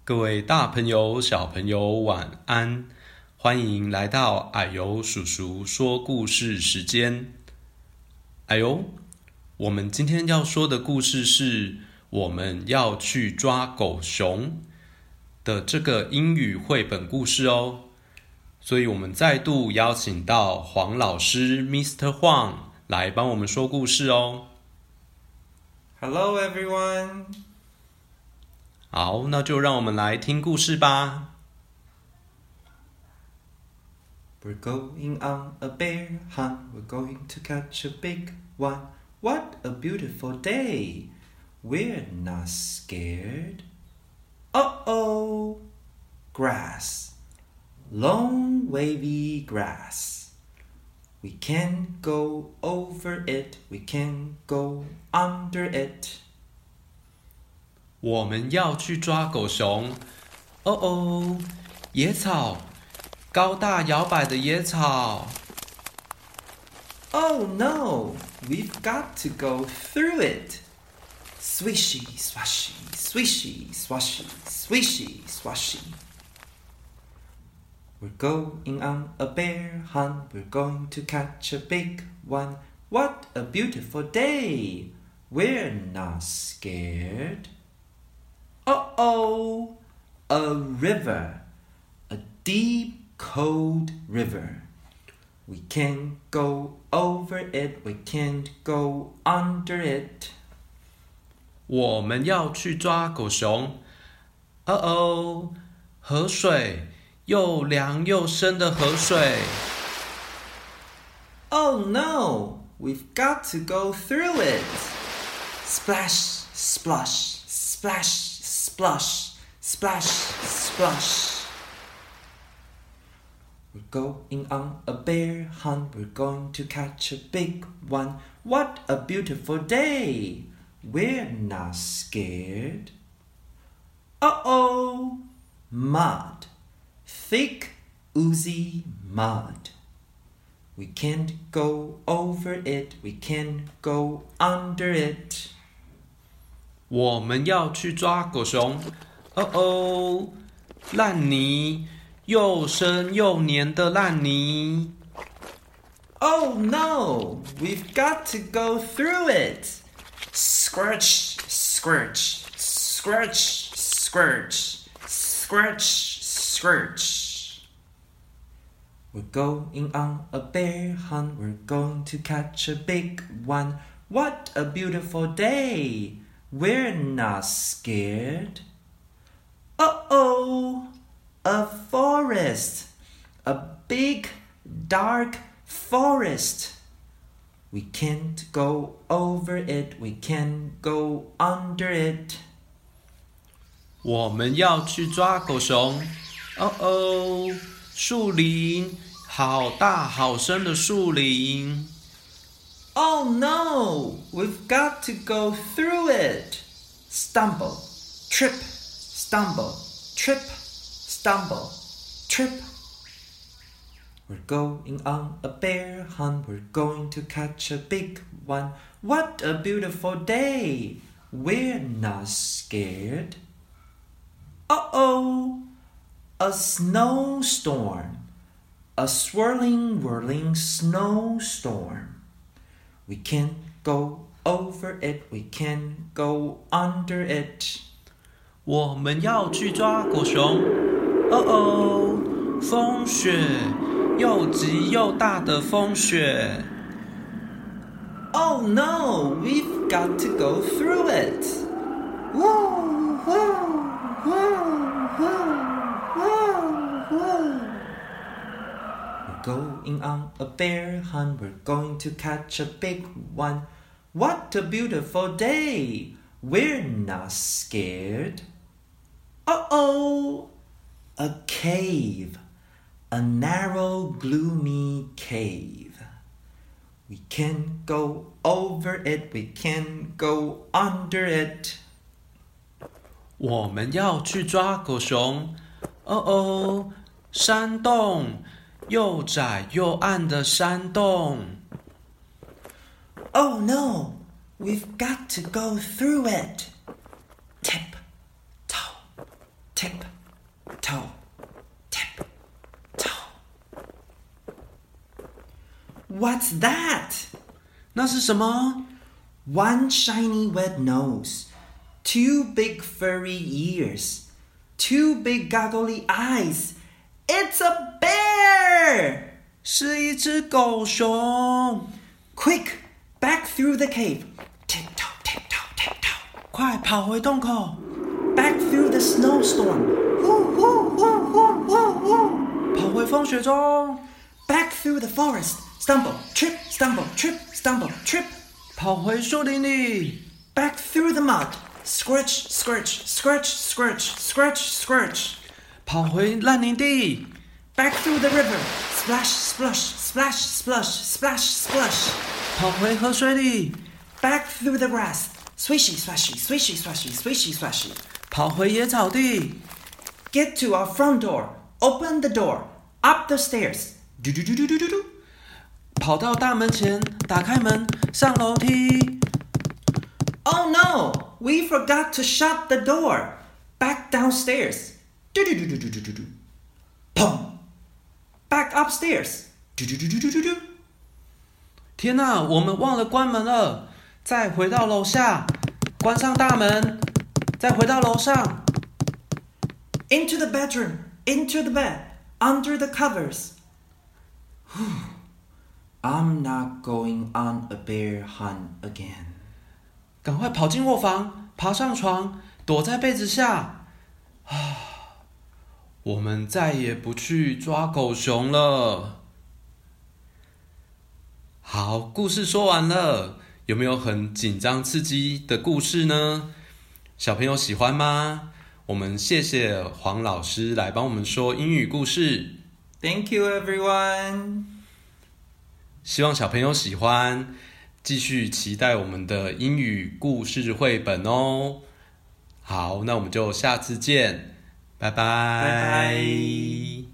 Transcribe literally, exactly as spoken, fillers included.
各位大朋友、小朋友，晚安！歡迎來到啊呦叔叔說故事時間。啊呦，我們今天要說的故事是我們要去抓狗熊的這個英語繪本故事哦。所以我們再度邀請到黃老師 Mister Huang 來幫我們說故事哦。 Hello everyone。 好，那就讓我們來聽故事吧。 We're going on a bear hunt. We're going to catch a big one. What a beautiful day. We're not scared. Uh-oh. Grass. Long wavy grass. We can't go over it. We can't go under it. 我們要去抓狗熊。哦哦，野草，高大搖擺的野草。 Oh no, we've got to go through it. Swishy, swashy, swishy, swashy, swishy, swashy. We're going on a bear hunt. We're going to catch a big one. What a beautiful day. We're not scared.Uh-oh, a river, a deep, cold river. We can't go over it, we can't go under it. 我們要去抓狗熊。哦哦，河水，又涼又深的河水。 Oh no, we've got to go through it. Splash, splosh, splash.Splosh, splash, splosh. We're going on a bear hunt. We're going to catch a big one. What a beautiful day. We're not scared. Uh-oh. Mud. Thick, oozy mud. We can't go over it. We can't go under it. 我們要去抓狗熊。哦哦，爛泥，又深又黏的爛泥。 Oh no, we've got to go through it. Squirch, squirch, squirch, squirch, squirch, squirch. We're going on a bear hunt. We're going to catch a big one. What a beautiful day.We're not scared. Uh-oh, a forest, a big, dark forest. We can't go over it, we can't go under it. 我們要去抓狗熊。哦哦，樹林，好大好深的樹林。 Oh no, we've got to go through it. Stumble, trip, stumble, trip, stumble, trip. We're going on a bear hunt. We're going to catch a big one. What a beautiful day. We're not scared. Uh-oh, a snowstorm. A swirling, whirling snowstorm.We can't go over it, we can't go under it. 我們要去抓狗熊。哦哦，風雪，又急又大的風雪。 Oh no, we've got to go through it. Whoa, whoa, whoa, whoa, whoa, whoa.We're going on a bear hunt. We're going to catch a big one. What a beautiful day. We're not scared. Uh-oh. A cave. A narrow, gloomy cave. We can't go over it. We can't go under it. 我們要去抓狗熊。哦哦，山洞。又窄又暗的山洞。 Oh no, we've got to go through it. Tip, toe, tip, toe, tip, toe. What's that? 那是什麼？ One shiny red nose, two big furry ears, two big goggly eyes. It's a bear! 是一隻狗熊。 Quick, back through the cave. Tiptoe, tiptoe, tiptoe. 快跑回洞口。 Back through the snowstorm. Woo, woo, woo, woo, woo, woo. 跑回風雪中。 Back through the forest. Stumble, trip, stumble, trip, stumble, trip. 跑回樹林裡。 Back through the mud. Squirch, squirch, squirch, squirch, squirch, squirch. 跑回爛泥地。 Back through the river. Splash, splush, splash, splush, splash, splush. 跑回河水裡。 Back through the grass. Swishy, swashy, swishy, swashy, swishy, swashy. 跑回野草地。 Get to our front door. Open the door. Up the stairs. Do do do do do do do. 跑到大門前，打開門，上樓梯。 Oh no! We forgot to shut the door. Back downstairs. Do do do do do do do do. Pum. Back upstairs. Do do do do do do do. 天哪，我們忘了關門了！再回到樓下，關上大門，再回到樓上。 Into the bedroom. Into the bed. Under the covers. I'm not going on a bear hunt again. 趕快跑進臥房，爬上床，躲在被子下。啊，我們再也不去抓狗熊了。好，故事說完了，有沒有很緊張刺激的故事呢？小朋友喜歡嗎？我們謝謝黃老師來幫我們說英語故事。 Thank you, everyone. 希望小朋友喜歡，繼續期待我們的英語故事繪本哦。好，那我們就下次見，拜拜。 拜拜。